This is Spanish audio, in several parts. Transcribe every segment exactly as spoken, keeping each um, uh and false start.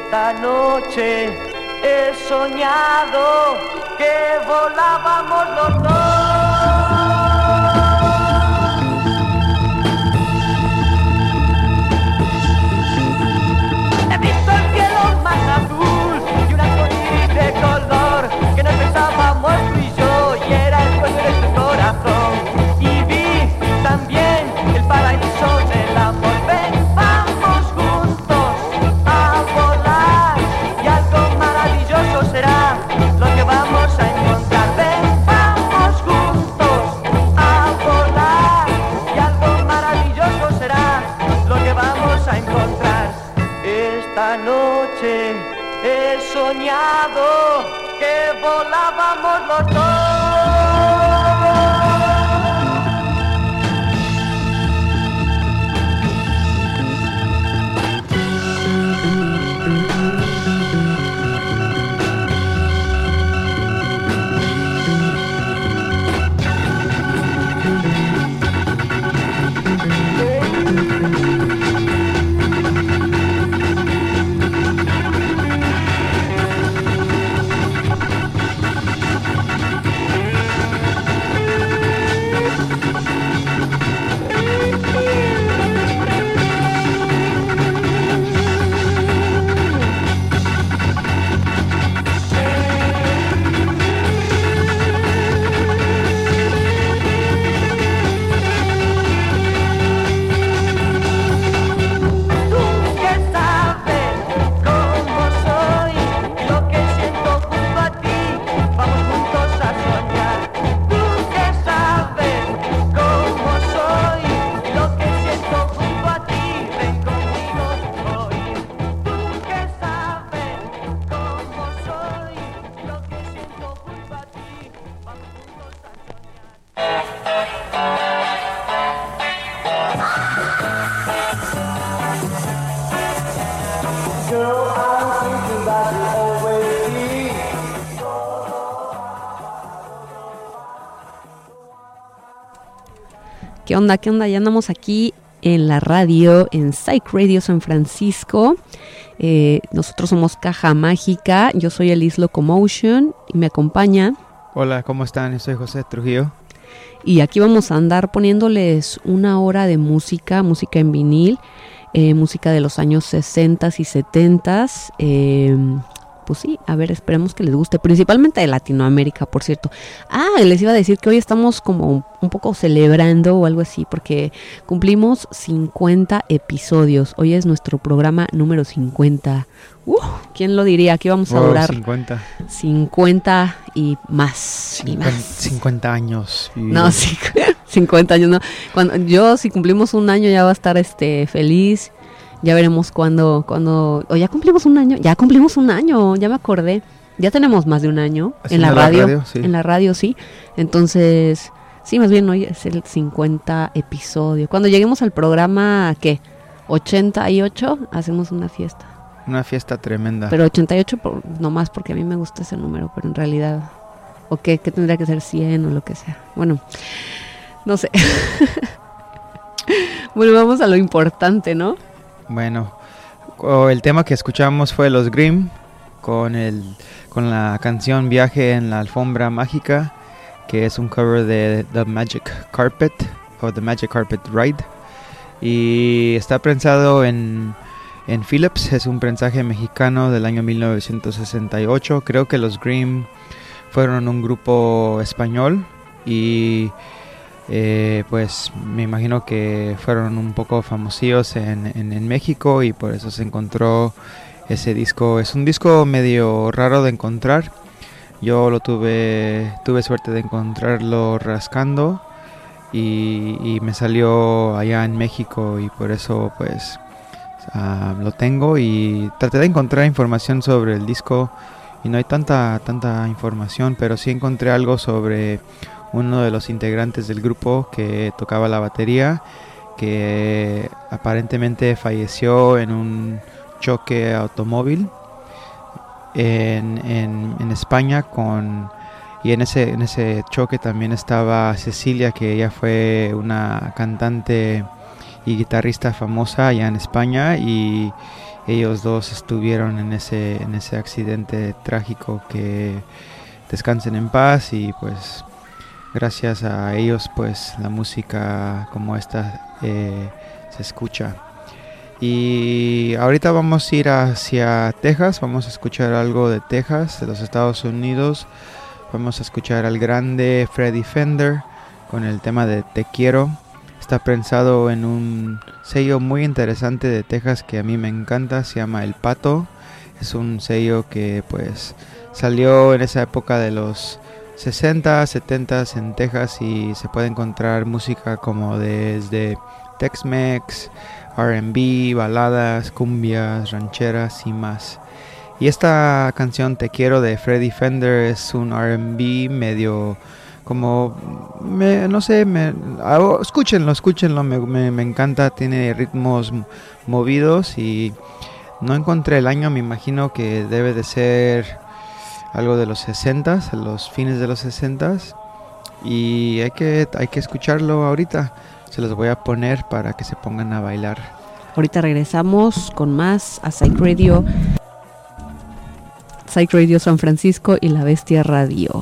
Esta noche he soñado que volábamos los dos. He visto el cielo más azul y un arcoíris de color que no pensábamos tú y yo, y era el sueño de tu corazón. Y vi también el paraíso del amor. Ven, vamos juntos a volar y algo maravilloso será lo que vamos a encontrar. Ven, vamos juntos a volar y algo maravilloso será lo que vamos a encontrar. Esta noche he soñado que volábamos los dos. ¿Qué onda? ¿Qué onda? Ya andamos aquí en la radio, en Psych Radio San Francisco. Eh, nosotros somos Caja Mágica. Yo soy Elis Locomotion y me acompaña. Hola, ¿cómo están? Yo soy José Trujillo. Y aquí vamos a andar poniéndoles una hora de música, música en vinil, eh, música de los años sesenta y setenta. Eh, pues sí, a ver, esperemos que les guste, principalmente de Latinoamérica, por cierto. Ah, les iba a decir que hoy estamos como un poco celebrando o algo así, porque cumplimos cincuenta episodios. Hoy es nuestro programa número cincuenta. Uh, ¿quién lo diría? Aquí vamos a wow, durar cincuenta. cincuenta y más. cincuenta, y más. cincuenta años. No, sí, cincuenta años, no. Cuando, yo, si cumplimos un año, ya va a estar este feliz. Ya veremos cuándo, cuándo, o ya cumplimos un año, ya cumplimos un año, ya me acordé. Ya tenemos más de un año en la radio, la radio sí. en la radio, sí. Entonces, sí, más bien hoy es el cincuenta episodio. Cuando lleguemos al programa, ¿qué? ochenta y ocho, hacemos una fiesta. Una fiesta tremenda. Pero ochenta y ocho por, nomás porque a mí me gusta ese número, pero en realidad, ¿o qué? ¿Qué tendría que ser cien o lo que sea? Bueno, no sé. Bueno, vamos a lo importante, ¿no? Bueno, el tema que escuchamos fue Los Grimm con el con la canción Viaje en la Alfombra Mágica, que es un cover de The Magic Carpet o The Magic Carpet Ride, y está prensado en, en Philips. Es un prensaje mexicano del año mil novecientos sesenta y ocho. Creo que Los Grimm fueron un grupo español y Eh, pues me imagino que fueron un poco famosillos en, en, en México, y por eso se encontró ese disco. Es un disco medio raro de encontrar. Yo lo tuve tuve suerte de encontrarlo rascando y, y me salió allá en México, y por eso pues uh, lo tengo, y traté de encontrar información sobre el disco y no hay tanta tanta información, pero sí encontré algo sobre uno de los integrantes del grupo que tocaba la batería, que aparentemente falleció en un choque automóvil en, en, en España, con y en ese, en ese choque también estaba Cecilia, que ella fue una cantante y guitarrista famosa allá en España, y ellos dos estuvieron en ese, en ese accidente trágico. Que descansen en paz, y pues gracias a ellos pues la música como esta eh, se escucha. Y ahorita vamos a ir hacia Texas, vamos a escuchar algo de Texas, de los Estados Unidos. Vamos a escuchar al grande Freddie Fender con el tema de Te Quiero. Está pensado en un sello muy interesante de Texas que a mí me encanta, se llama El Pato. Es un sello que pues salió en esa época de los sesenta, setenta en Texas, y se puede encontrar música como desde Tex-Mex, R and B, baladas, cumbias, rancheras y más. Y esta canción Te Quiero de Freddie Fender es un R and B medio como, me, no sé, me, oh, escúchenlo, escúchenlo, me, me, me encanta, tiene ritmos movidos, y no encontré el año, me imagino que debe de ser algo de los sesentas, los fines de los sesentas, y hay que, hay que escucharlo ahorita. Se los voy a poner para que se pongan a bailar. Ahorita regresamos con más a Psych Radio, Psych Radio San Francisco y La Bestia Radio.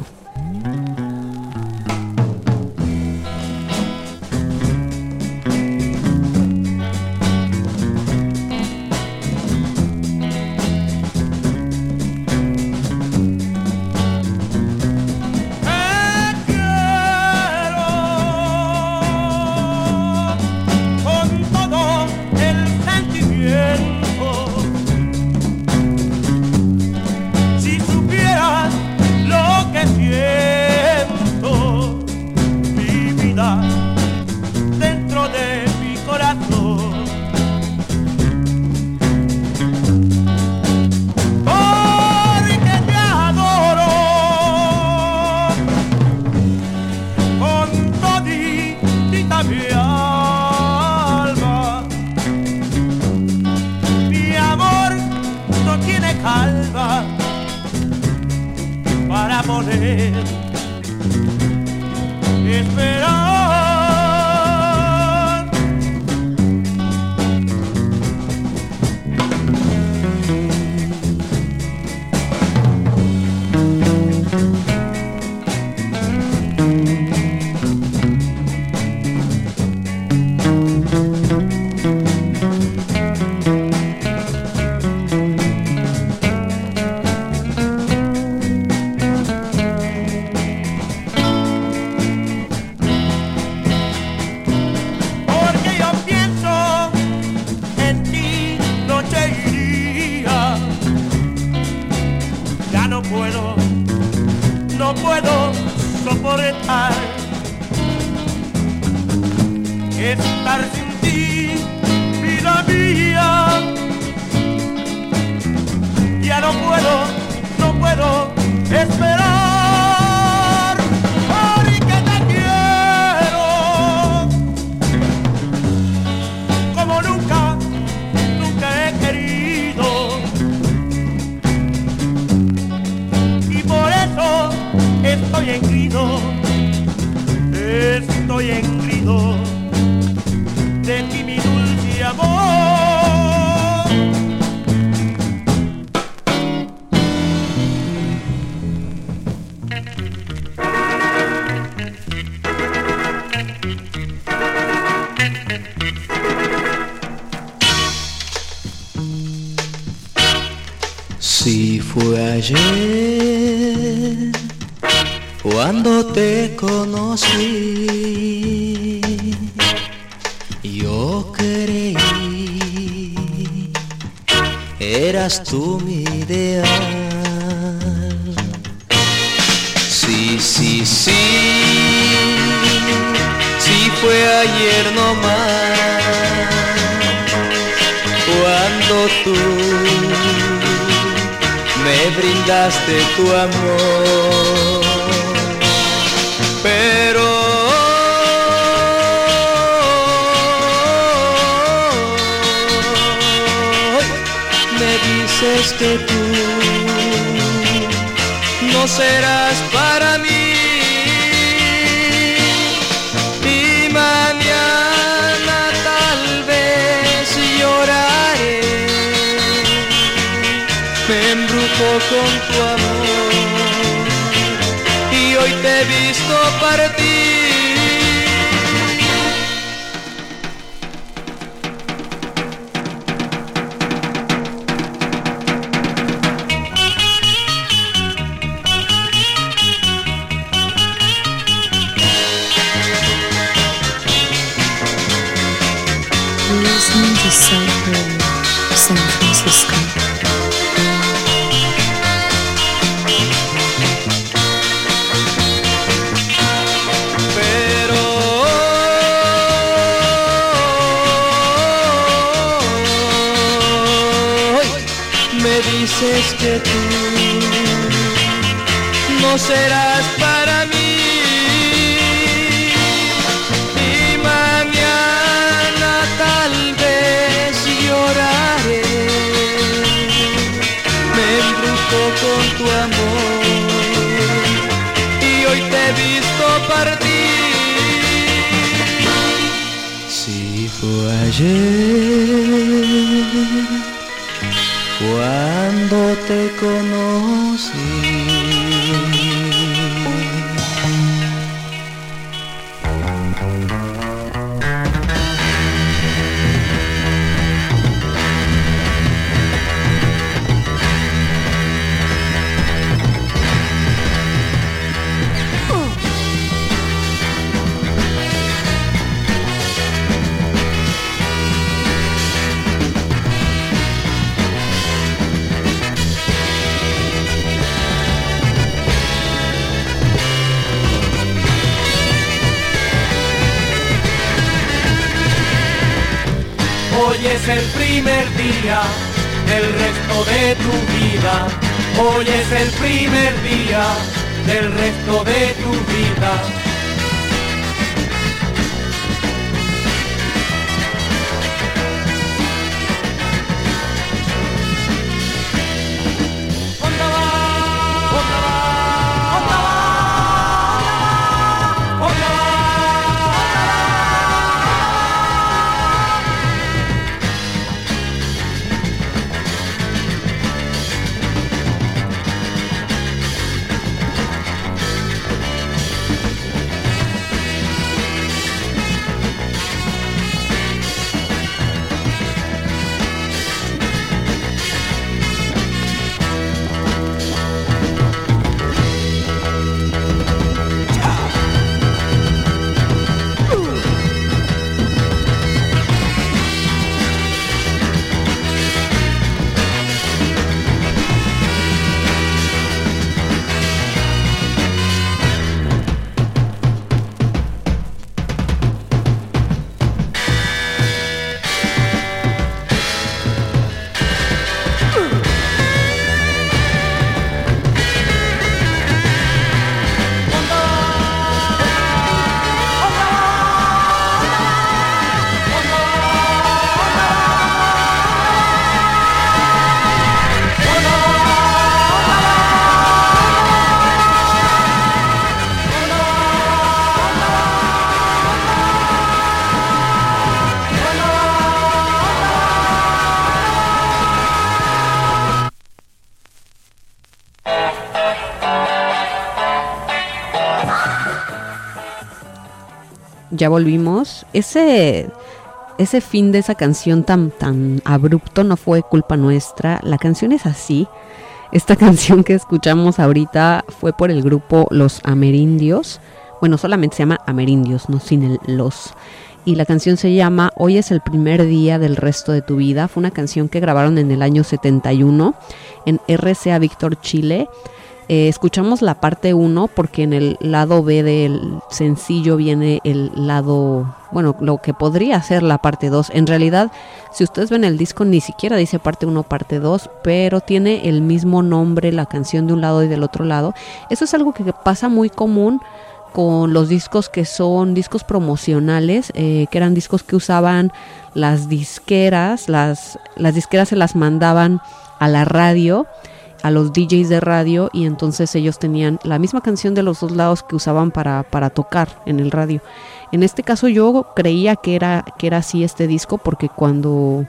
Si fue ayer cuando te conocí, yo creí eras tú mi ideal. Sí, sí, sí, sí fue ayer nomás cuando tú me brindaste tu amor, pero hoy me dices que tú no serás para mí, y mañana tal vez lloraré me embrujó con tu amor y hoy te he visto partir. Listening to South Radio, San Francisco. Pero hoy me dices que tú no serás para mí. Con tu amor y hoy te he visto partir. Si fue ayer cuando te conocí. Hoy es el primer día del resto de tu vida. Hoy es el primer día del resto de tu vida. Ya volvimos. Ese, ese fin de esa canción tan, tan abrupto no fue culpa nuestra. La canción es así. Esta canción que escuchamos ahorita fue por el grupo Los Amerindios. Bueno, solamente se llama Amerindios, no sin el los. Y la canción se llama Hoy es el primer día del resto de tu vida. Fue una canción que grabaron en el año setenta y uno en R C A Víctor, Chile. Eh, escuchamos la parte uno porque en el lado B del sencillo viene el lado, bueno, lo que podría ser la parte dos. En realidad, si ustedes ven el disco, ni siquiera dice parte uno, parte dos, pero tiene el mismo nombre la canción de un lado y del otro lado. Eso es algo que pasa muy común con los discos que son discos promocionales, eh, que eran discos que usaban las disqueras, las, las disqueras se las mandaban a la radio, a los D Js de radio, y entonces ellos tenían la misma canción de los dos lados que usaban para, para tocar en el radio. En este caso yo creía que era, que era así este disco, porque cuando,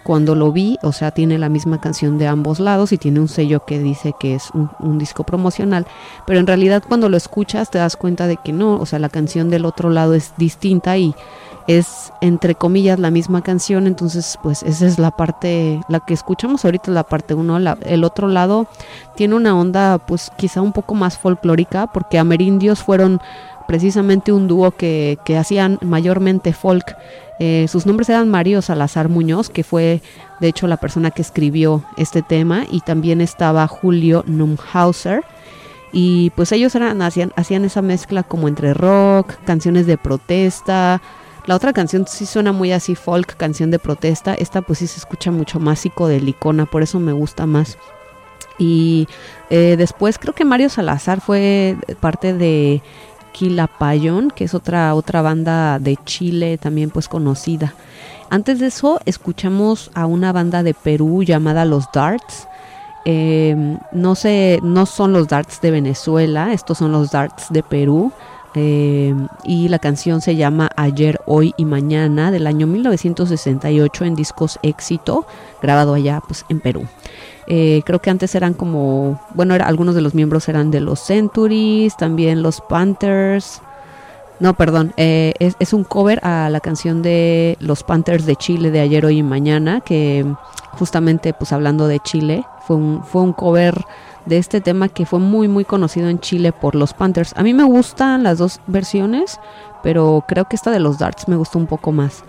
cuando lo vi, o sea, tiene la misma canción de ambos lados y tiene un sello que dice que es un, un disco promocional, pero en realidad cuando lo escuchas te das cuenta de que no, o sea, la canción del otro lado es distinta y es entre comillas la misma canción. Entonces pues esa es la parte, la que escuchamos ahorita es la parte uno. El otro lado tiene una onda pues quizá un poco más folclórica, porque Amerindios fueron precisamente un dúo que, que hacían mayormente folk. Eh, sus nombres eran Mario Salazar Muñoz, que fue de hecho la persona que escribió este tema, y también estaba Julio Numhauser, y pues ellos eran, hacían, hacían esa mezcla como entre rock, canciones de protesta. La otra canción sí suena muy así folk, canción de protesta. Esta pues sí se escucha mucho más psicodelicona, por eso me gusta más. Y eh, después creo que Mario Salazar fue parte de Quilapayún, que es otra, otra banda de Chile también pues conocida. Antes de eso escuchamos a una banda de Perú llamada Los Darts. Eh, no sé, no son los Darts de Venezuela, estos son los Darts de Perú. Eh, y la canción se llama Ayer, Hoy y Mañana, del año mil novecientos sesenta y ocho, en Discos Éxito, grabado allá pues en Perú. Eh, creo que antes eran como, bueno, era, algunos de los miembros eran de los Centuries, también los Panthers. No, perdón, eh, es, es un cover a la canción de los Panthers de Chile de Ayer, Hoy y Mañana, que justamente pues hablando de Chile, fue un, fue un cover de este tema que fue muy muy conocido en Chile por los Panthers. A mí me gustan las dos versiones, pero creo que esta de los Darts me gustó un poco más.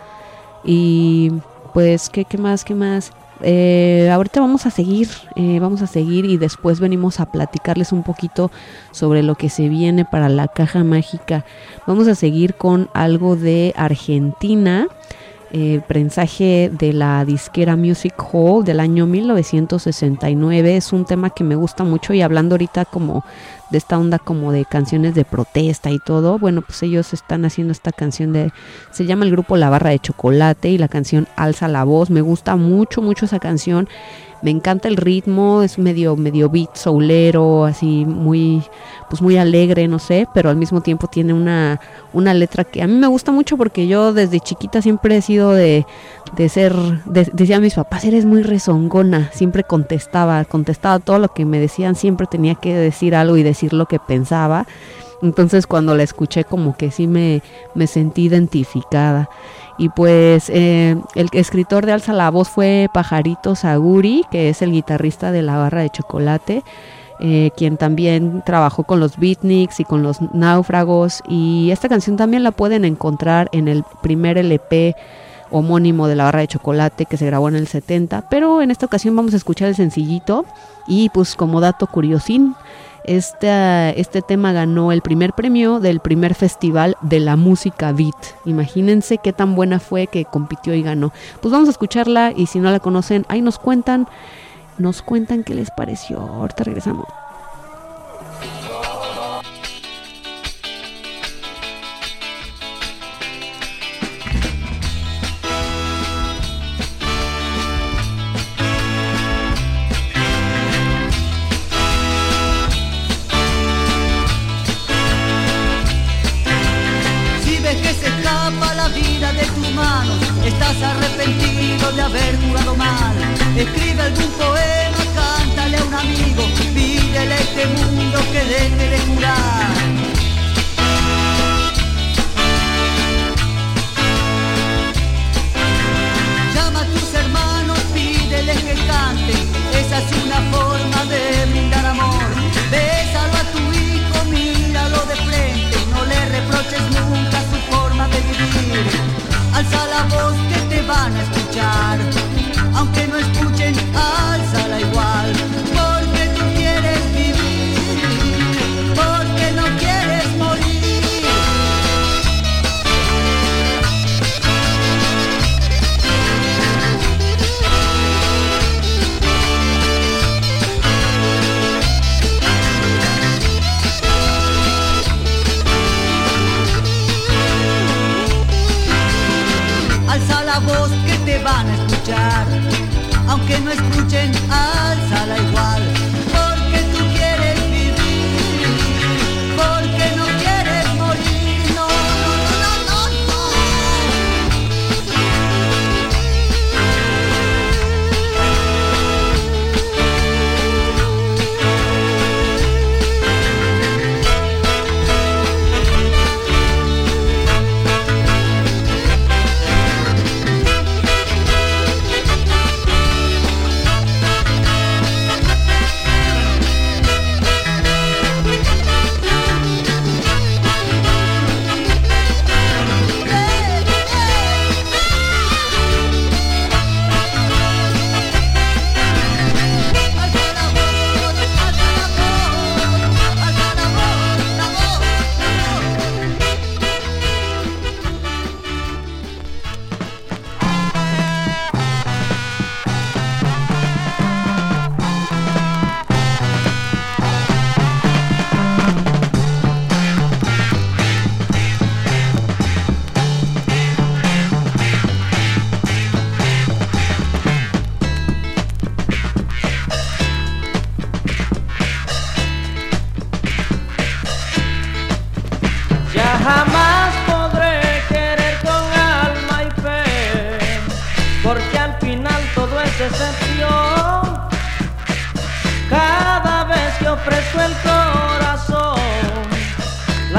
Y pues, ¿qué, qué más? ¿Qué más? Eh, ahorita vamos a seguir, eh, vamos a seguir y después venimos a platicarles un poquito sobre lo que se viene para la caja mágica. Vamos a seguir con algo de Argentina. Eh, prensaje de la disquera Music Hall del año mil novecientos sesenta y nueve. Es un tema que me gusta mucho, y hablando ahorita como de esta onda como de canciones de protesta y todo, bueno, pues ellos están haciendo esta canción de, se llama el grupo La Barra de Chocolate, y la canción Alza la Voz. Me gusta mucho mucho esa canción, me encanta el ritmo, es medio medio beat soulero, así muy pues muy alegre, no sé, pero al mismo tiempo tiene una una letra que a mí me gusta mucho, porque yo desde chiquita siempre he sido de de ser, de, decía a mis papás, eres muy rezongona, siempre contestaba, contestaba todo lo que me decían, siempre tenía que decir algo y decir lo que pensaba. Entonces cuando la escuché como que sí me, me sentí identificada. Y pues eh, el escritor de Alza la Voz fue Pajarito Saguri, que es el guitarrista de La Barra de Chocolate, eh, quien también trabajó con los Beatniks y con los Náufragos. Y esta canción también la pueden encontrar en el primer L P homónimo de La Barra de Chocolate, que se grabó en el setenta, pero en esta ocasión vamos a escuchar el sencillito. Y pues como dato curiosín, Este, este tema ganó el primer premio del primer festival de la música beat. Imagínense qué tan buena fue que compitió y ganó. Pues vamos a escucharla, y si no la conocen, ahí nos cuentan, nos cuentan qué les pareció. Ahorita regresamos. Estás arrepentido de haber jugado mal, escribe algún poema, cántale a un amigo, pídele a este mundo que deje de jurar. Llama a tus hermanos, pídeles que canten, esa es una forma de brindar amor. Bésalo a tu hijo, míralo de frente, no le reproches nunca su forma de vivir. Alza la voz que te van a escuchar, aunque no escuchen, alza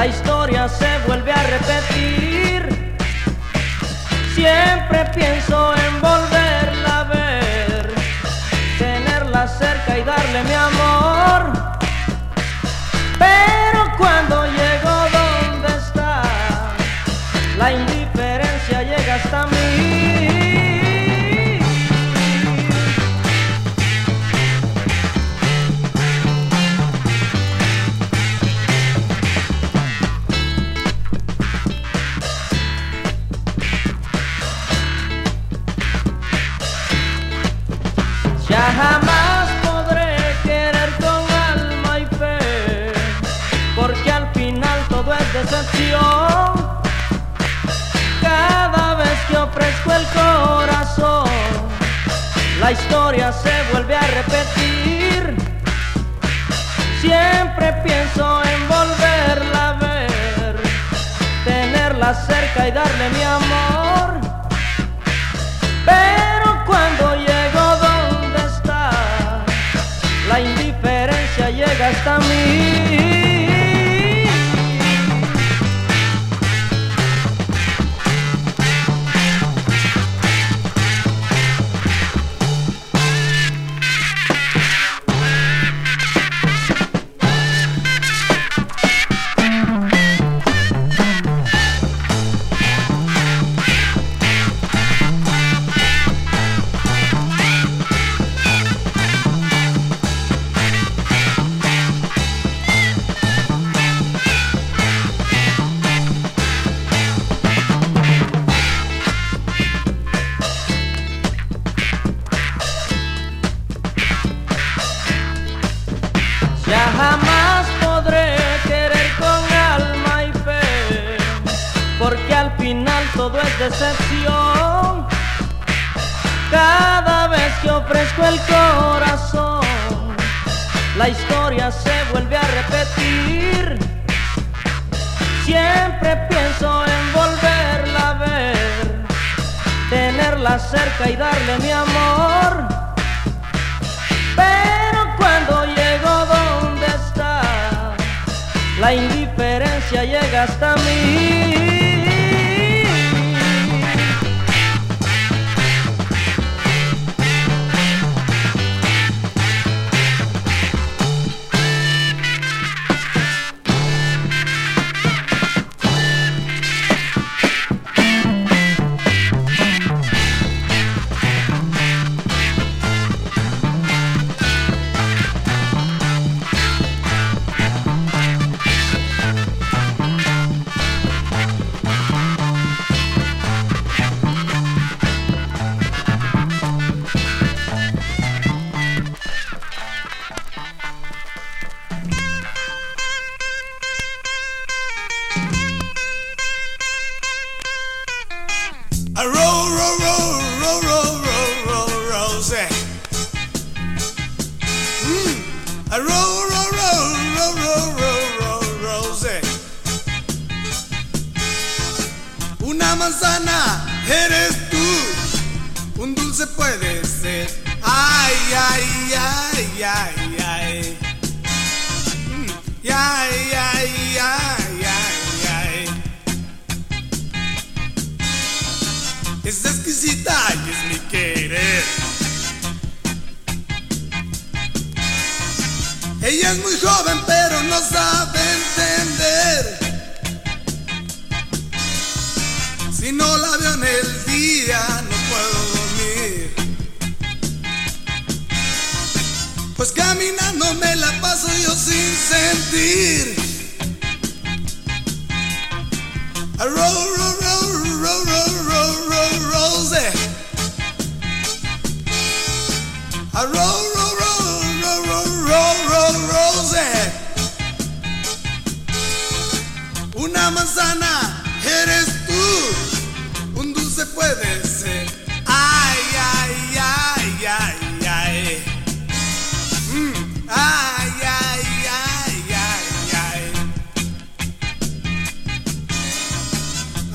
la historia se vuelve a repetir. Siempre pienso en volverla a ver, tenerla cerca y darle mi amor. Pero cuando llego donde está, la indiferencia llega hasta mí. Ya jamás podré querer con alma y fe, porque al final todo es decepción. Cada vez que ofrezco el corazón, la historia se vuelve a repetir. Siempre pienso en volverla a ver, tenerla cerca y darle mi amor. Pero cuando llego donde está, la indiferencia llega hasta mí. Ya jamás podré querer con alma y fe, porque al final todo es decepción. Cada vez que ofrezco el corazón, la historia se vuelve a repetir. Siempre pienso en volverla a ver, tenerla cerca y darle mi amor. Pero cuando llego donde está, la indiferencia llega hasta mí. A roll, roll, roll, roll, roll, roll, roll, rose. Mm. A roll, roll, roll, roll, roll, roll, roll, rose. Una manzana eres tú, un dulce puede ser. Ay, ay, ay, ay, ay. Mm. Ay, ay, ay, ay, ay. Es exquisita y es mi querer. Ella es muy joven pero no sabe entender. Si no la veo en el día no puedo dormir, pues caminando me la paso yo sin sentir. A roll, roll, roll, roll, roll, roll, roll, rose. A roll, roll, roll, roll, roll, roll, roll, rose. Una manzana eres tú, un dulce puede ser. Ay, ay, ay, ay, ay. Mm, ay, ay, ay, ay, ay.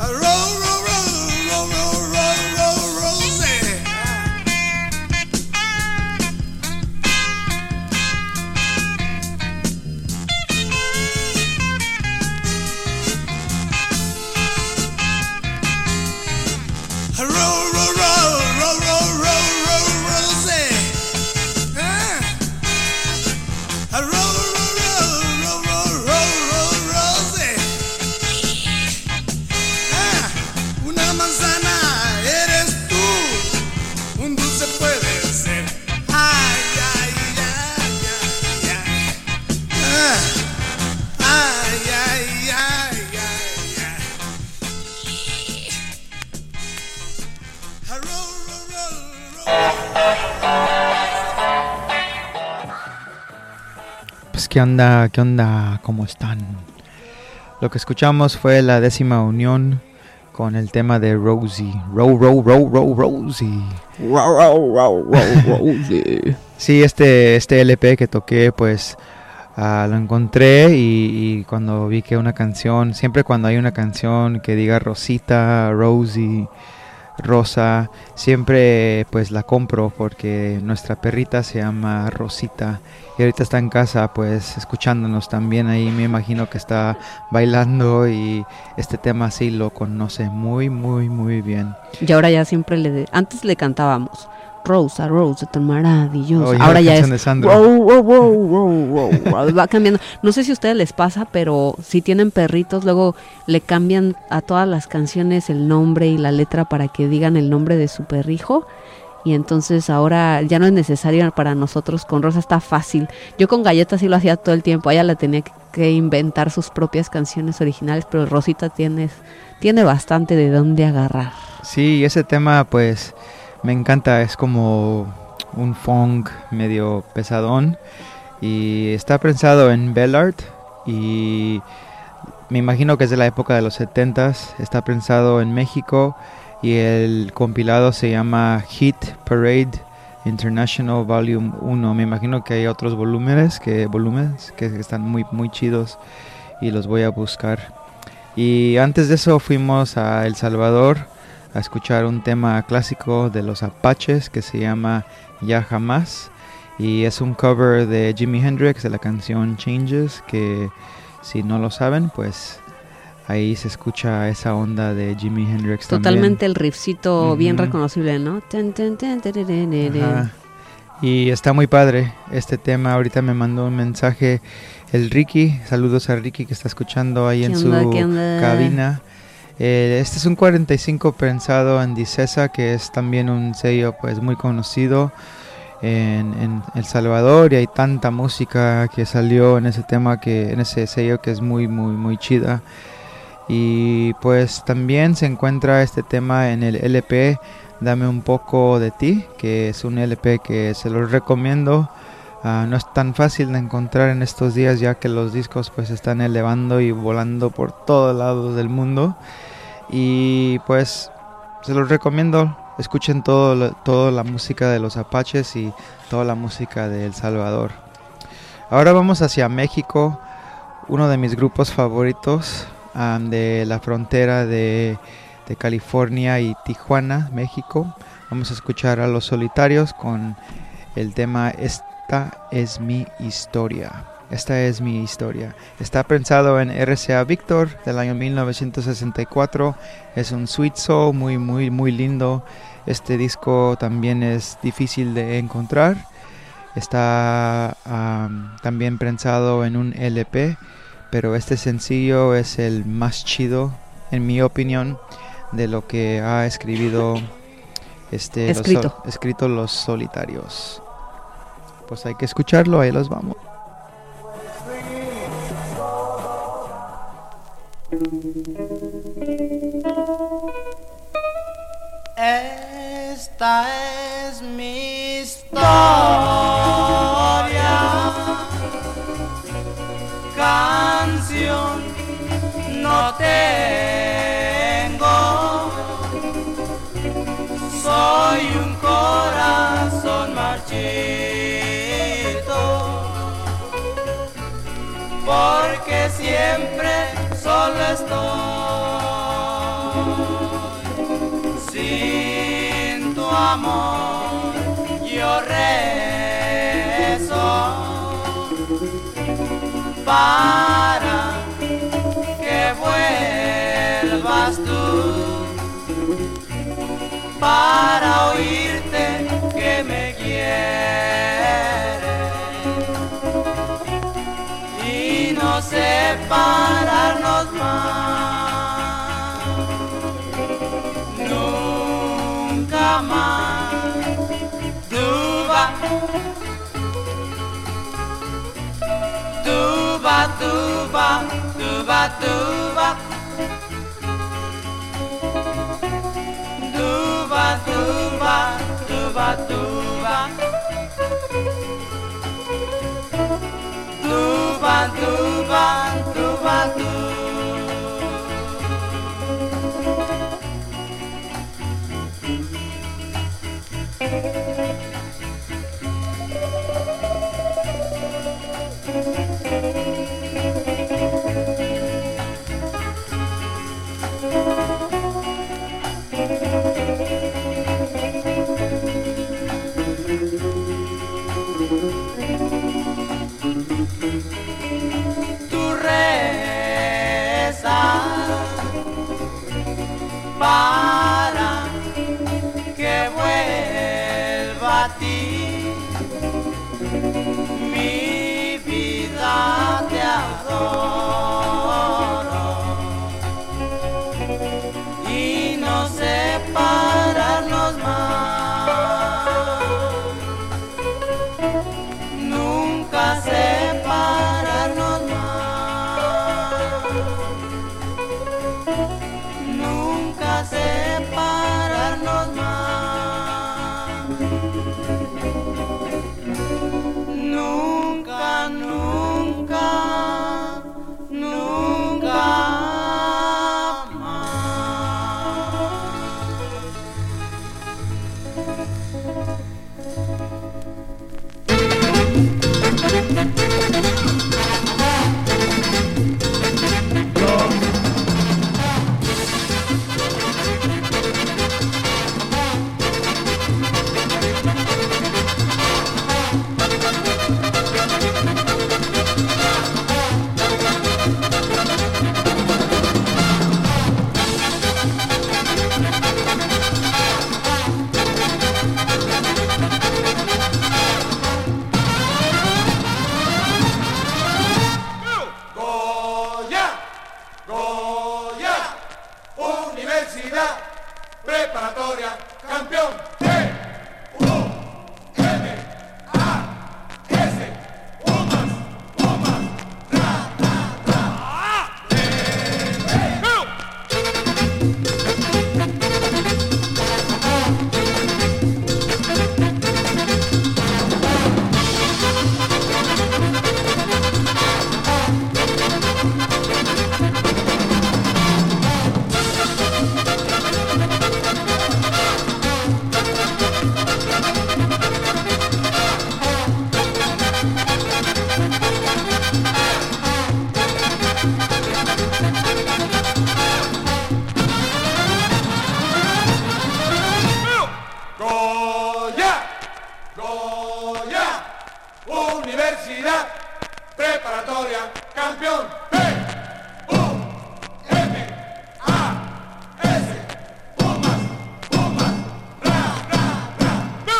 Pues qué onda, qué onda, ¿cómo están? Lo que escuchamos fue la décima unión con el tema de Rosie. Row, row, row, row, Rosie. Row, row, row, row, Rosie. Sí, este, este L P que toqué, pues uh, lo encontré y, y cuando vi que una canción, siempre cuando hay una canción que diga Rosita, Rosie, Rosa, siempre pues la compro porque nuestra perrita se llama Rosita y ahorita está en casa pues escuchándonos también ahí, me imagino que está bailando y este tema sí lo conoce muy muy muy bien. Y ahora ya siempre le de... antes le cantábamos Rosa, Rosa, tan maravillosa. Oye, ahora la ya es canción de Sandro. wow, wow, wow, wow, wow. Va cambiando. No sé si a ustedes les pasa, pero si tienen perritos, luego le cambian a todas las canciones el nombre y la letra para que digan el nombre de su perrijo. Y entonces ahora ya no es necesario para nosotros. Con Rosa está fácil. Yo con Galleta sí lo hacía todo el tiempo. Ella la tenía que inventar sus propias canciones originales, pero Rosita tiene, tiene bastante de dónde agarrar. Sí, ese tema pues me encanta, es como un funk medio pesadón y está pensado en Bellart y me imagino que es de la época de los setentas, está pensado en México y el compilado se llama Hit Parade International Volume uno. Me imagino que hay otros volúmenes que volúmenes que están muy muy chidos y los voy a buscar. Y antes de eso fuimos a El Salvador a escuchar un tema clásico de los Apaches que se llama Ya Jamás y es un cover de Jimi Hendrix de la canción Changes, que si no lo saben pues ahí se escucha esa onda de Jimi Hendrix. Totalmente también. El riffcito uh-huh. bien reconocible, ¿no? Ajá. Y está muy padre este tema. Ahorita me mandó un mensaje el Ricky, saludos a Ricky que está escuchando ahí en onda, su onda? cabina. Eh, este es un cuarenta y cinco pensado en Dicesa, que es también un sello pues muy conocido en, en El Salvador, y hay tanta música que salió en ese tema, que en ese sello, que es muy muy muy chida. Y pues también se encuentra este tema en el L P Dame un poco de ti, que es un L P que se los recomiendo. Uh, no es tan fácil de encontrar en estos días, ya que los discos pues están elevando y volando por todos lados del mundo. Y pues se los recomiendo, escuchen todo, toda la música de los Apaches y toda la música de El Salvador. Ahora vamos hacia México, uno de mis grupos favoritos, um, de la frontera de, de California y Tijuana, México. Vamos a escuchar a Los Solitarios con el tema Esta es mi historia. Esta es mi historia. Está pensado en R C A Víctor del año mil novecientos sesenta y cuatro. Es un sweet soul muy muy muy lindo. Este disco también es difícil de encontrar. Está um, también pensado en un L P, pero este sencillo es el más chido, en mi opinión, de lo que ha escribido este escrito. Los, so, escrito Los Solitarios. Pues hay que escucharlo, ahí los vamos. Esta es mi historia, canción no tengo, soy un corazón marchito, porque siempre solo estoy. Sin tu amor yo rezo para que vuelvas tú, para oírte que me quieres y no separarnos más, nunca más. Tuba, tuba, tuba, tuba, tuba, tuba, tuba, tuba, tuba, tuba. Bantu, bantu, bantu. Tu reza para que vuelva a ti, mi vida te adoro y no separarnos más, nunca separarnos más, nunca separarnos más, nunca, nunca, nunca más. Goya, Goya, Universidad Preparatoria, campeón. T, U, M, A, S, Pumas, Pumas, ra, ra, ra. Goya, Goya, Universidad Preparatoria, campeón. P, U, M, A, S, Pumas, Pumas, ra, ra, ra.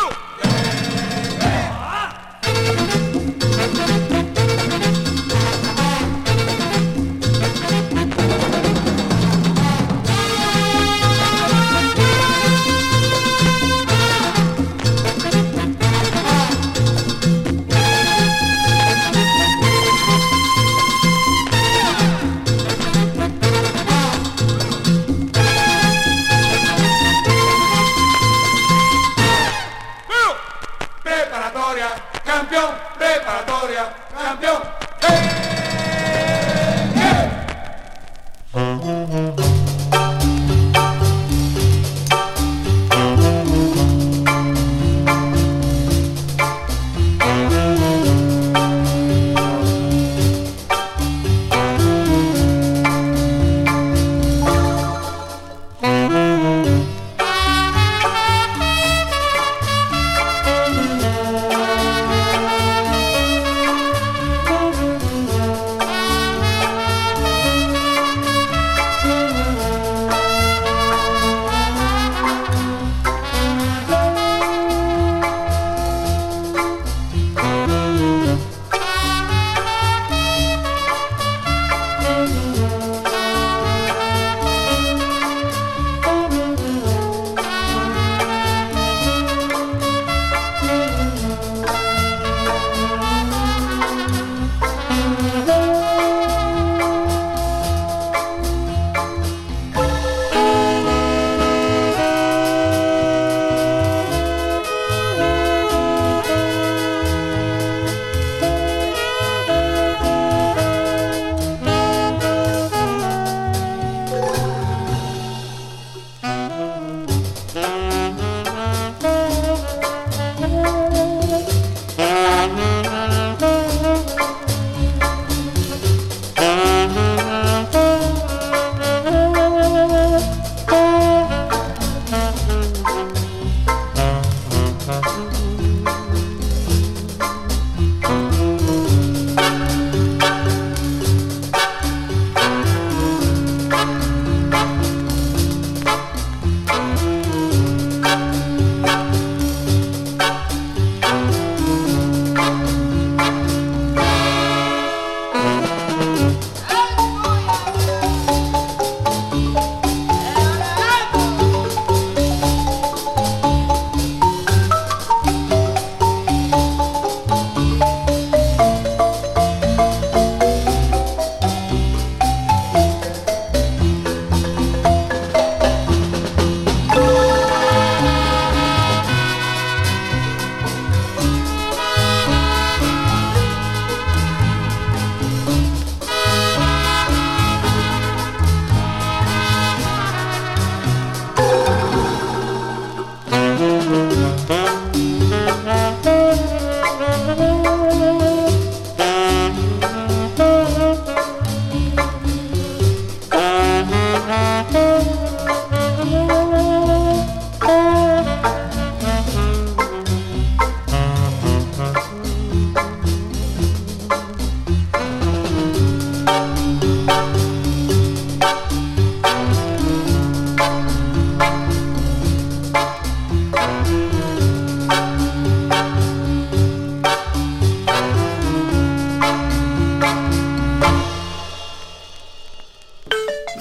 Preparatoria, campeón, preparatoria, campeón. ¡Eh! ¡Eh!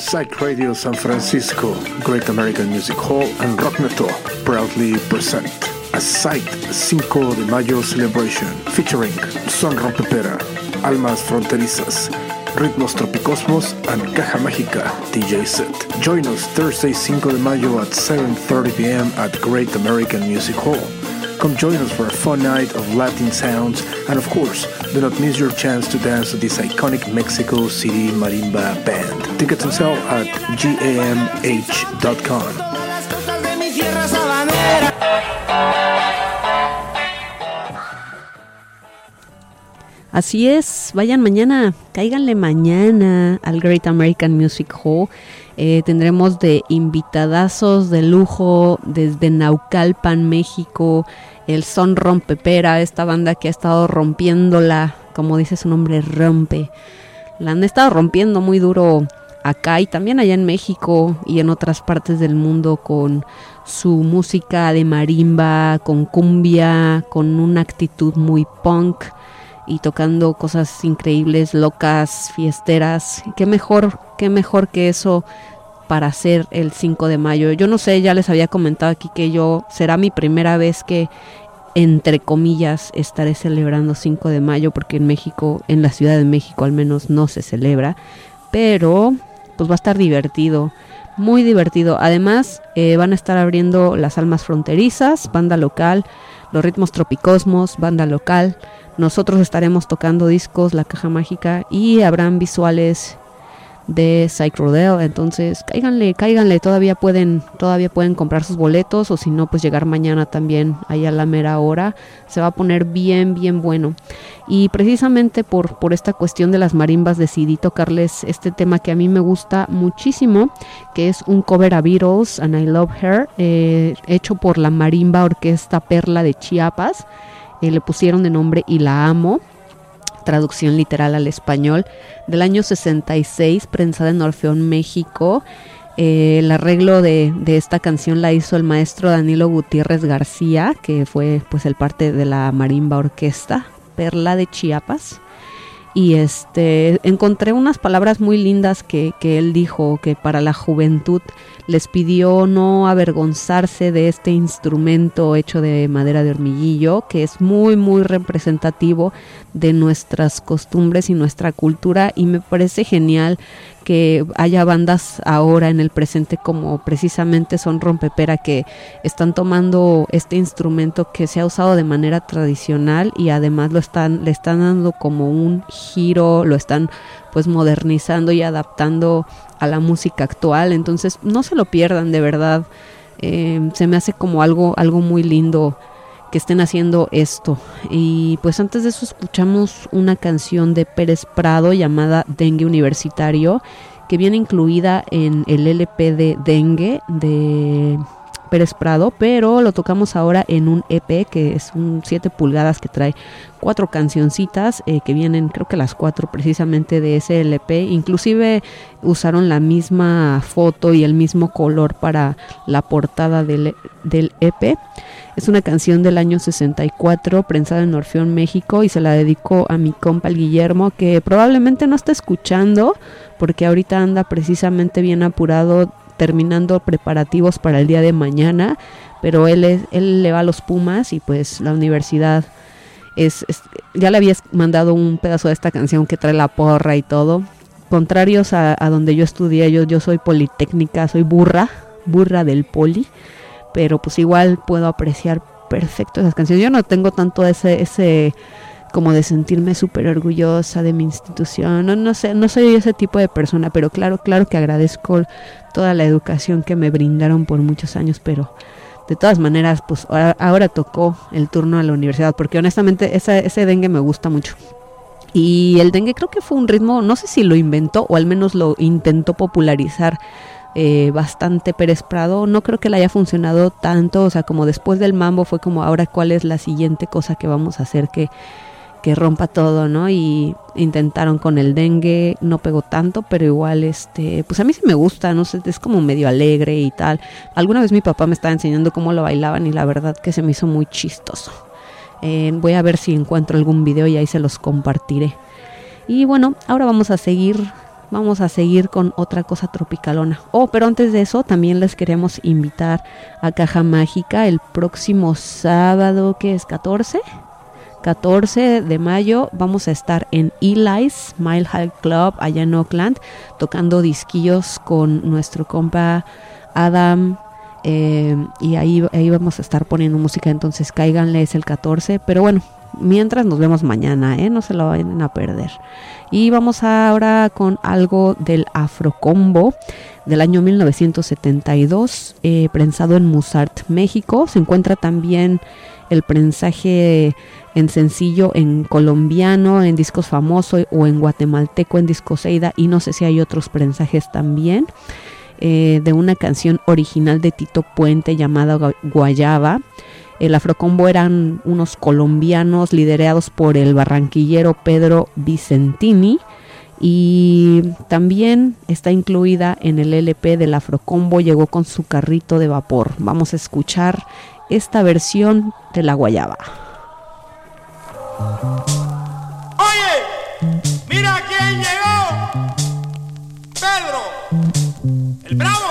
Psych Radio San Francisco, Great American Music Hall, and Rockneto proudly present a Psych cinco de Mayo celebration featuring Son Rompepera, Almas Fronterizas, Ritmos Tropicosmos, and Caja Mágica D J set. Join us Thursday cinco de Mayo at seven thirty p.m. at Great American Music Hall. Come join us for a fun night of Latin sounds, and of course, do not miss your chance to dance to this iconic Mexico City marimba band. Tickets on sale at G A M H dot com. Así es, vayan mañana, cáiganle mañana al Great American Music Hall. Eh, tendremos de invitadazos de lujo desde Naucalpan, México, el Son Rompepera, esta banda que ha estado rompiéndola, como dice su nombre, rompe. La han estado rompiendo muy duro acá y también allá en México y en otras partes del mundo con su música de marimba, con cumbia, con una actitud muy punk y tocando cosas increíbles, locas, fiesteras. Qué mejor, qué mejor que eso para hacer el cinco de mayo. Yo no sé, ya les había comentado aquí que yo será mi primera vez que, entre comillas, estaré celebrando cinco de mayo, porque en México, en la Ciudad de México al menos, no se celebra, pero pues va a estar divertido, muy divertido. Además, eh, van a estar abriendo las Almas Fronterizas, banda local, los Ritmos Tropicosmos, banda local. Nosotros estaremos tocando discos, la Caja Mágica, y habrán visuales de Psych Rodeo. Entonces cáiganle, cáiganle, todavía pueden, todavía pueden comprar sus boletos, o si no, pues llegar mañana también ahí a la mera hora. Se va a poner bien, bien bueno. Y precisamente por, por esta cuestión de las marimbas decidí tocarles este tema que a mí me gusta muchísimo, que es un cover a Beatles, And I Love Her, eh, hecho por la Marimba Orquesta Perla de Chiapas. Eh, le pusieron de nombre Y la amo, traducción literal al español, del año sesenta y seis, prensada en Orfeón, México. Eh, el arreglo de, de esta canción la hizo el maestro Danilo Gutiérrez García, que fue pues el parte de la Marimba Orquesta Perla de Chiapas. Y este encontré unas palabras muy lindas que, que él dijo, que para la juventud les pidió no avergonzarse de este instrumento hecho de madera de hormiguillo, que es muy muy representativo de nuestras costumbres y nuestra cultura, y me parece genial que haya bandas ahora en el presente como precisamente Son Rompepera, que están tomando este instrumento que se ha usado de manera tradicional y además lo están le están dando como un giro, lo están pues modernizando y adaptando a la música actual. Entonces no se lo pierdan, de verdad. Eh, se me hace como algo algo muy lindo que estén haciendo esto. Y pues antes de eso escuchamos una canción de Pérez Prado llamada Dengue Universitario, que viene incluida en el L P de Dengue de Pérez Prado, pero lo tocamos ahora en un E P que es un siete pulgadas que trae cuatro cancioncitas eh, que vienen, creo que las cuatro precisamente de ese L P. Inclusive usaron la misma foto y el mismo color para la portada del, del E P. Es una canción del año sesenta y cuatro, prensada en Orfeón, México, y se la dedico a mi compa el Guillermo, que probablemente no está escuchando porque ahorita anda precisamente bien apurado terminando preparativos para el día de mañana, pero él es, él le va a los Pumas y pues la universidad es, es ya le habías mandado un pedazo de esta canción que trae la porra y todo. Contrarios a, a donde yo estudié, yo, yo soy politécnica, soy burra, burra del poli, pero pues igual puedo apreciar perfecto esas canciones. Yo no tengo tanto ese ese como de sentirme súper orgullosa de mi institución, no, no sé, no soy ese tipo de persona, pero claro, claro que agradezco toda la educación que me brindaron por muchos años, pero de todas maneras, pues ahora, ahora tocó el turno a la universidad, porque honestamente esa, ese dengue me gusta mucho. Y el dengue creo que fue un ritmo, no sé si lo inventó o al menos lo intentó popularizar eh, bastante Pérez Prado. No creo que le haya funcionado tanto, o sea, como después del mambo fue como ahora cuál es la siguiente cosa que vamos a hacer que que rompa todo, ¿no? Y intentaron con el dengue, no pegó tanto, pero igual, este, pues a mí sí me gusta, no sé, es como medio alegre y tal. Alguna vez mi papá me estaba enseñando cómo lo bailaban y la verdad que se me hizo muy chistoso. Eh, voy a ver si encuentro algún video y ahí se los compartiré. Y bueno, ahora vamos a seguir vamos a seguir con otra cosa tropicalona. Oh, pero antes de eso también les queremos invitar a Caja Mágica el próximo sábado, que es catorce de mayo. Vamos a estar en Eli's Mile High Club allá en Oakland, tocando disquillos con nuestro compa Adam, eh, y ahí, ahí vamos a estar poniendo música, entonces cáiganle, es el catorce, pero bueno, mientras nos vemos mañana, ¿eh? No se lo vayan a perder. Y vamos ahora con algo del Afrocombo del año mil novecientos setenta y dos, eh, prensado en Musart, México. Se encuentra también el prensaje en sencillo en colombiano, en Discos Famoso, o en guatemalteco en Discoseida, y no sé si hay otros prensajes también, eh, de una canción original de Tito Puente llamada Guayaba. El Afrocombo eran unos colombianos liderados por el barranquillero Pedro Vicentini, y también está incluida en el L P del Afrocombo Llegó con su carrito de vapor. Vamos a escuchar esta versión de la Guayaba. Oye, mira quién llegó. Pedro, el Bravo.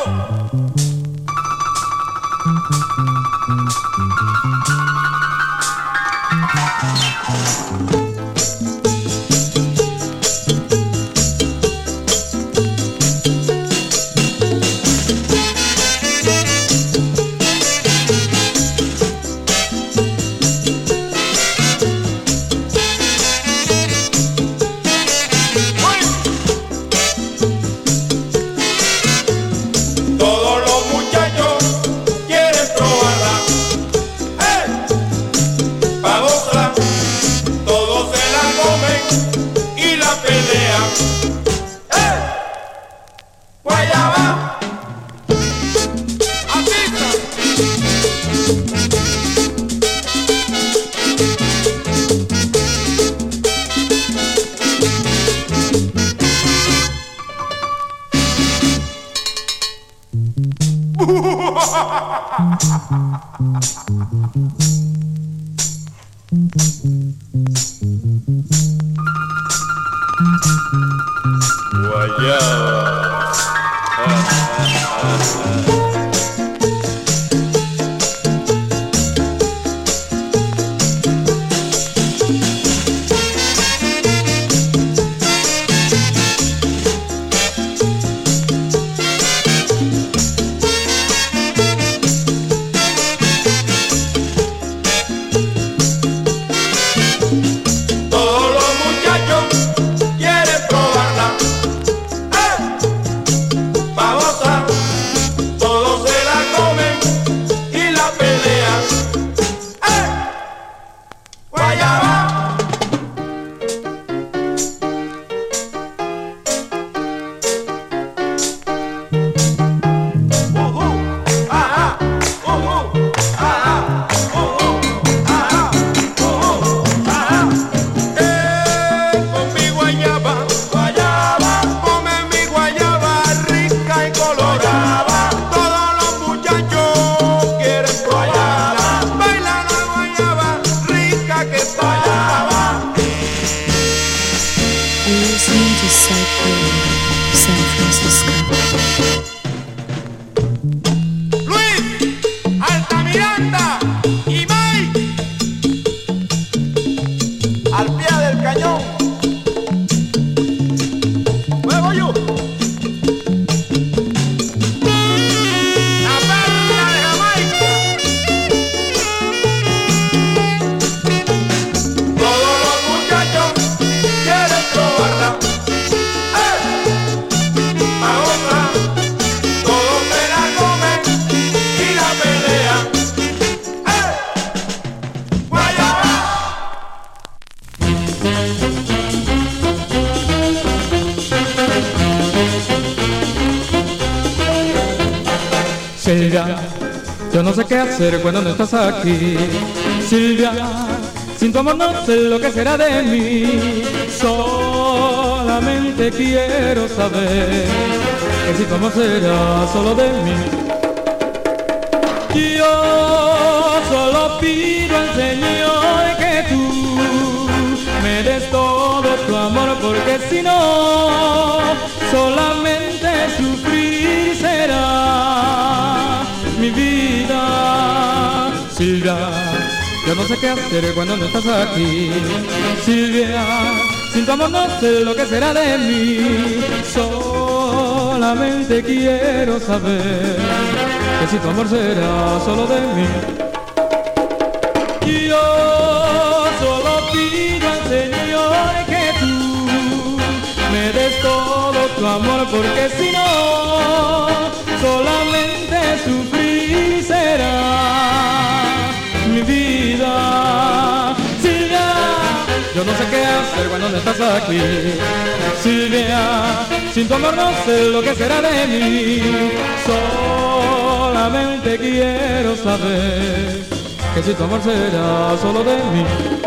Silvia, yo no sé qué hacer cuando no estás aquí. Silvia, sin tu amor no sé lo que será de mí. Solamente quiero saber que si tu amor será solo de mí. Yo solo pido al Señor que tú me des todo tu amor, porque si no, solamente sufrir será mi vida. Silvia, yo no sé qué hacer cuando no estás aquí. Silvia, sin tu amor no sé lo que será de mí. Solamente quiero saber que si tu amor será solo de mí. Yo solo pido al Señor que tú me des todo tu amor, porque si no, solamente sufrir será mi vida. Silvia, yo no sé qué hacer cuando no estás aquí. Silvia, sin tu amor no sé lo que será de mí. Solamente quiero saber que si tu amor será solo de mí.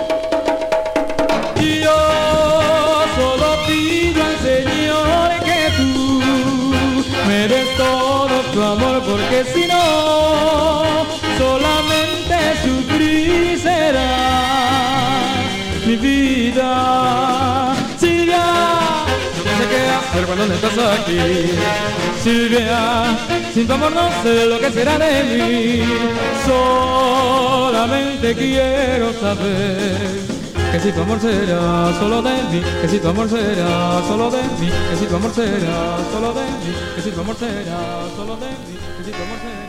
Y yo solo pido al Señor que tú me des todo tu amor, porque si no, solamente sufrir será mi vida. Silvia, yo no sé qué hacer cuando no estás aquí. Silvia, sin tu amor no sé lo que será de mí. Solamente quiero saber que si tu amor será solo de mí, que si tu amor será solo de mí, que si tu amor será solo de mí, que si tu amor será solo de mí, que si tu amor será.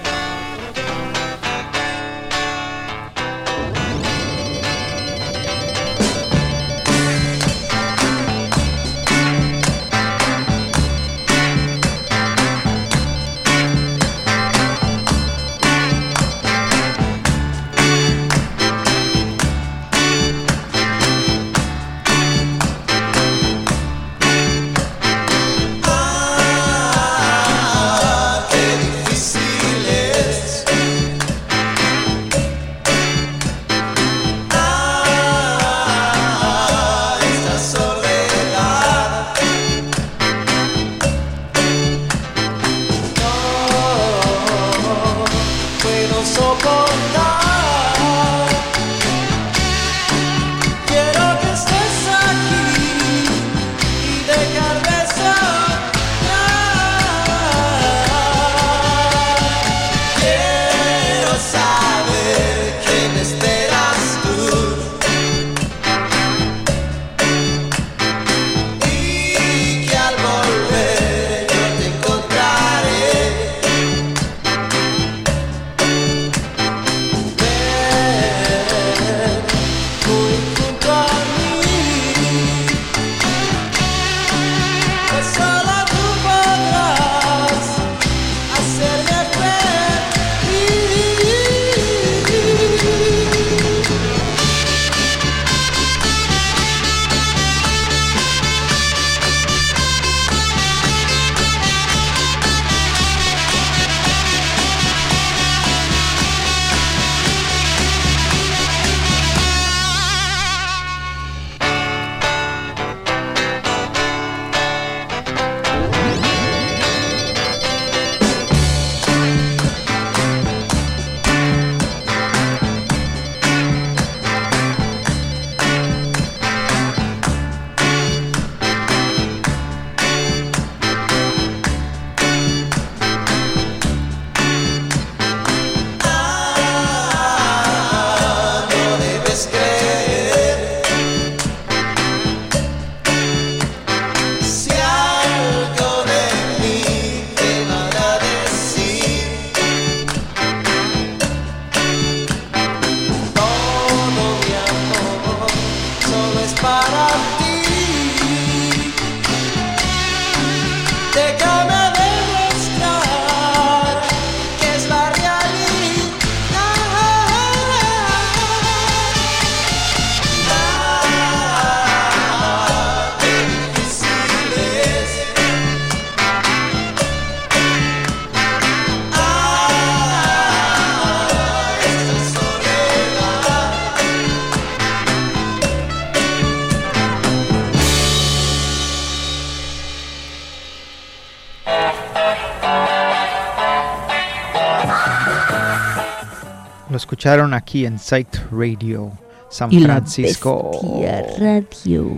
Lo escucharon aquí en Psyched Radio, San y Francisco. La Bestia Radio.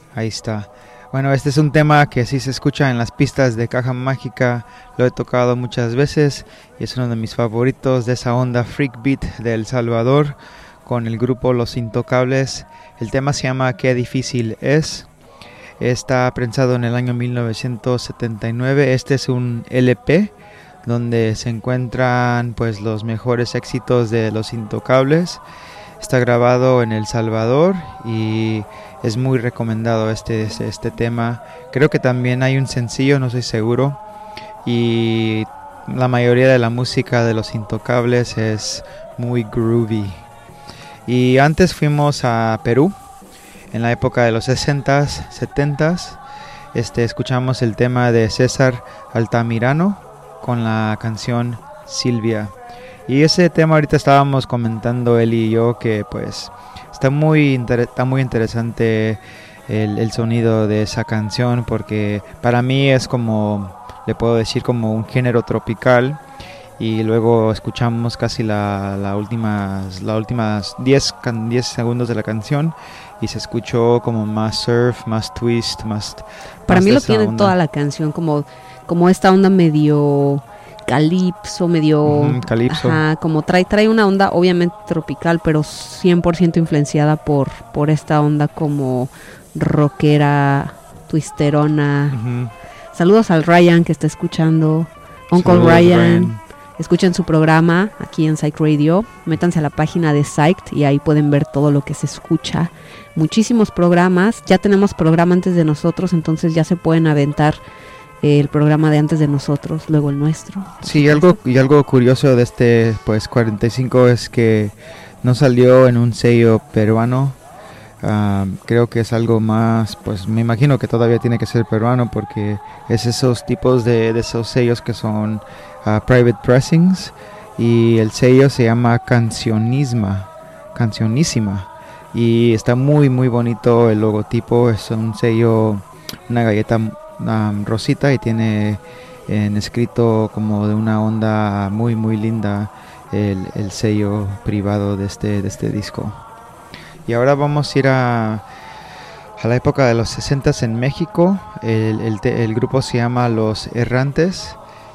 Ahí está. Bueno, este es un tema que sí se escucha en las pistas de Caja Mágica, lo he tocado muchas veces y es uno de mis favoritos, de esa onda freak beat de El Salvador con el grupo Los Intocables. El tema se llama Qué difícil es. Está prensado en el año mil novecientos setenta y nueve. Este es un L P donde se encuentran pues los mejores éxitos de Los Intocables. Está grabado en El Salvador y es muy recomendado este, este tema. Creo que también hay un sencillo, no estoy seguro. Y la mayoría de la música de Los Intocables es muy groovy. Y antes fuimos a Perú, en la época de los sesentas, setentas. Este, escuchamos el tema de César Altamirano con la canción Silvia. Y ese tema ahorita estábamos comentando él y yo que pues está muy, inter- está muy interesante el, el sonido de esa canción, porque para mí es como, le puedo decir, como un género tropical. Y luego escuchamos casi la, la últimas, la últimas diez segundos de la canción y se escuchó como más surf, más twist, más... Para más mí de lo esa tiene onda. toda la canción, como, como esta onda medio calipso, medio... Ujú, calipso. Ajá, como trae, trae una onda obviamente tropical, pero cien por ciento influenciada por, por esta onda como rockera, twisterona. Ujú. Saludos al Ryan que está escuchando. Uncle Saludos, Ryan. Ryan. Escuchen su programa aquí en Psych Radio. Métanse a la página de Psyched y ahí pueden ver todo lo que se escucha. Muchísimos programas. Ya tenemos programa antes de nosotros, entonces ya se pueden aventar eh, el programa de antes de nosotros, luego el nuestro. Sí, algo, y algo curioso de este pues cuarenta y cinco es que no salió en un sello peruano. Uh, creo que es algo más, pues me imagino que todavía tiene que ser peruano, porque es esos tipos de, de esos sellos que son uh, private pressings, y el sello se llama Cancionisma, Cancionísima, y está muy muy bonito el logotipo. Es un sello, una galleta um, rosita, y tiene en escrito como de una onda muy muy linda el, el sello privado de este, de este disco. Y ahora vamos a ir a, a la época de los sesentas en México. El, el, te, el grupo se llama Los Errantes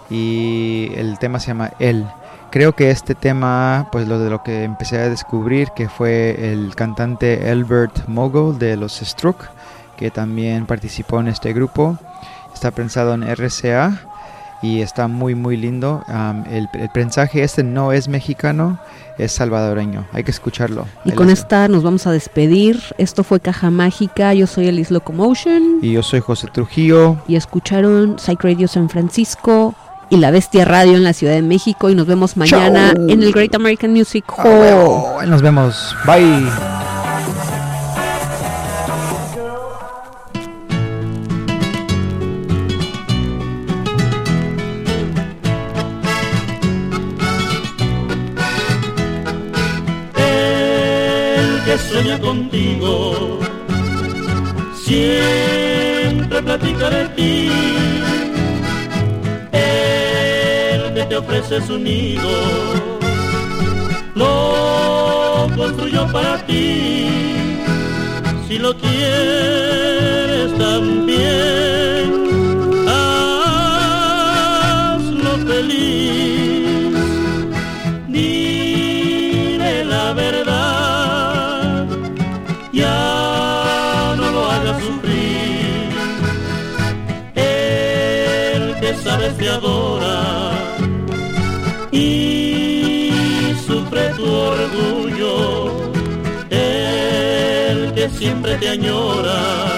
y el tema se llama El. Creo que este tema, pues lo de lo que empecé a descubrir, que fue el cantante Elbert Mogul de los Struck, que también participó en este grupo. Está prensado en R C A y está muy muy lindo. Um, el, el prensaje este no es mexicano, es salvadoreño. Hay que escucharlo. Y Ahí con les- esta nos vamos a despedir. Esto fue Caja Mágica. Yo soy Elis Locomotion. Y yo soy José Trujillo. Y escucharon Psych Radio San Francisco y La Bestia Radio en la Ciudad de México. Y nos vemos mañana Chao. en el Great American Music Ah, Hall. huevo. Nos vemos. Bye. El que sueña contigo siempre platica de ti. El que te ofrece su nido lo construyó para ti. Si lo quieres también, hazlo feliz. Dile la verdad, ya no lo hagas sufrir. El que sabes te adora y sufre tu orgullo. El que siempre te añora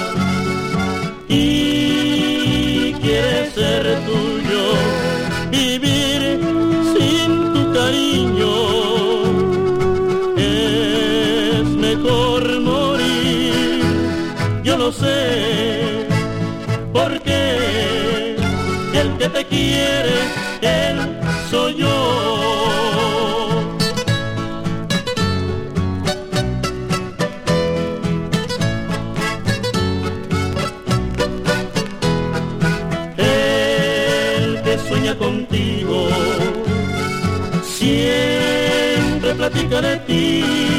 y quiere ser tuyo. Vivir sin tu cariño es mejor morir. Yo lo sé, porque el que te quiere, él soy yo. El que sueña contigo siempre platica de ti.